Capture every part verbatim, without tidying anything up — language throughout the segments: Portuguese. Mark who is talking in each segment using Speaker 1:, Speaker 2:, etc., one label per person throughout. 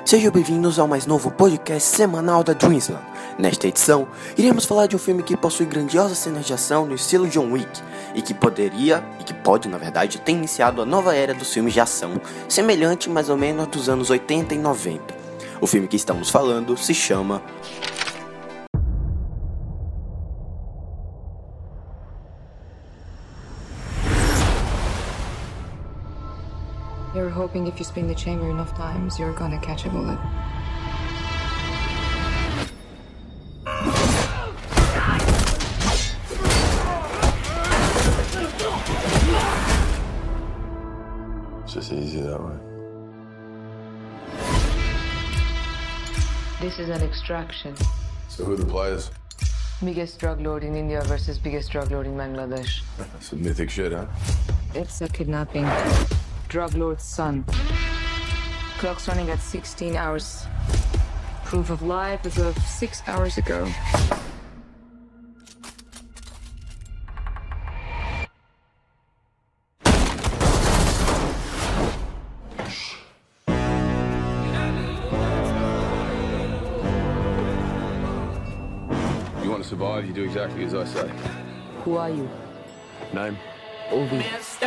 Speaker 1: Sejam bem-vindos ao mais novo podcast semanal da Dreamsland. Nesta edição, iremos falar de um filme que possui grandiosas cenas de ação no estilo John Wick e que poderia, e que pode na verdade, ter iniciado a nova era dos filmes de ação, semelhante mais ou menos dos anos oitenta e noventa. O filme que estamos falando se chama
Speaker 2: You're hoping if you spin the chamber enough times, you're gonna catch a bullet.
Speaker 3: It's just easy that way.
Speaker 2: This is an extraction.
Speaker 3: So who are the players?
Speaker 2: Biggest drug lord in India versus biggest drug lord in Bangladesh.
Speaker 3: Some mythic shit, huh?
Speaker 2: It's a kidnapping. Drug lord's son. Clock's running at sixteen hours. Proof of life as of six hours ago.
Speaker 3: You want to survive, you do exactly as I say.
Speaker 2: Who are you?
Speaker 3: Name?
Speaker 2: Ovi.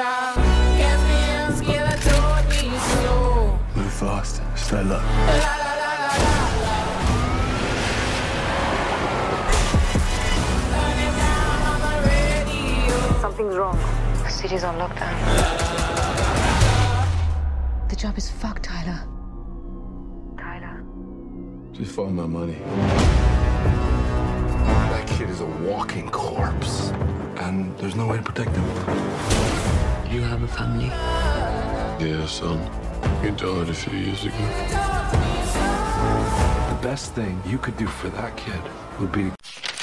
Speaker 3: Move fast, stay low.
Speaker 2: Something's wrong. The city's on lockdown. The job is fucked, Tyler. Tyler.
Speaker 3: Just find my money. That kid is a walking corpse, and there's no way to protect him.
Speaker 2: You have a family.
Speaker 3: Yeah, son. He died a few years ago. The best thing you could do for that kid would be...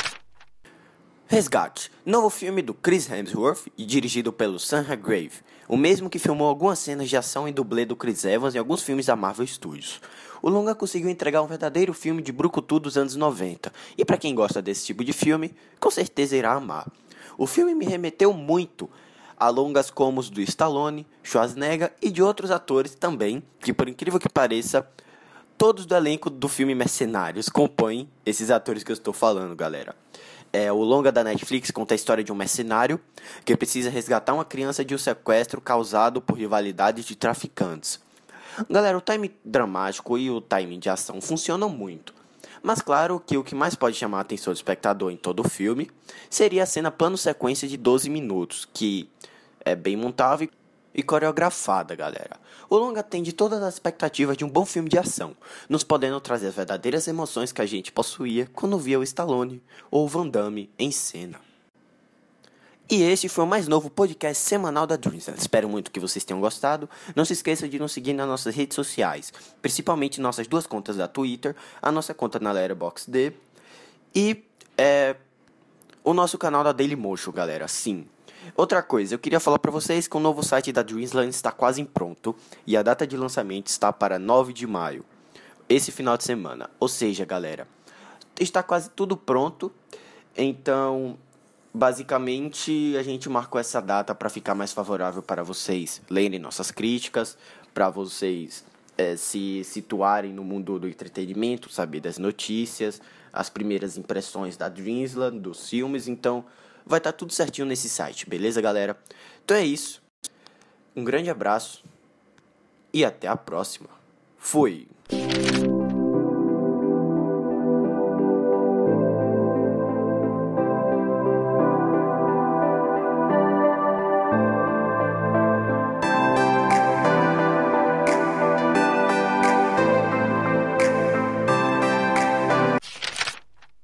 Speaker 1: Resgate, novo filme do Chris Hemsworth e dirigido pelo Sam Hargrave, o mesmo que filmou algumas cenas de ação e dublê do Chris Evans em alguns filmes da Marvel Studios. O longa conseguiu entregar um verdadeiro filme de brucutu dos anos noventa, e para quem gosta desse tipo de filme, com certeza irá amar. O filme me remeteu muito a longas como os do Stallone, Schwarzenegger e de outros atores também, que por incrível que pareça, todos do elenco do filme Mercenários compõem esses atores que eu estou falando, galera. É, o longa da Netflix conta a história de um mercenário que precisa resgatar uma criança de um sequestro causado por rivalidades de traficantes. Galera, o time dramático e o time de ação funcionam muito. Mas claro que o que mais pode chamar a atenção do espectador em todo o filme seria a cena plano-sequência de doze minutos, que é bem montável e coreografada, galera. O longa atende todas as expectativas de um bom filme de ação, nos podendo trazer as verdadeiras emoções que a gente possuía quando via o Stallone ou o Van Damme em cena. E este foi o mais novo podcast semanal da Dreamsland. Espero muito que vocês tenham gostado. Não se esqueça de nos seguir nas nossas redes sociais, principalmente nossas duas contas da Twitter, a nossa conta na Letterboxd e é, o nosso canal da Dailymotion, galera. Sim. Outra coisa, eu queria falar para vocês que o novo site da Dreamsland está quase pronto e a data de lançamento está para nove de maio, esse final de semana. Ou seja, galera, está quase tudo pronto, então basicamente a gente marcou essa data para ficar mais favorável para vocês lerem nossas críticas, para vocês é, se situarem no mundo do entretenimento, saber das notícias, as primeiras impressões da Dreamsland, dos filmes. Então vai estar tudo certinho nesse site, beleza, galera? Então é isso. Um grande abraço e até a próxima. Fui!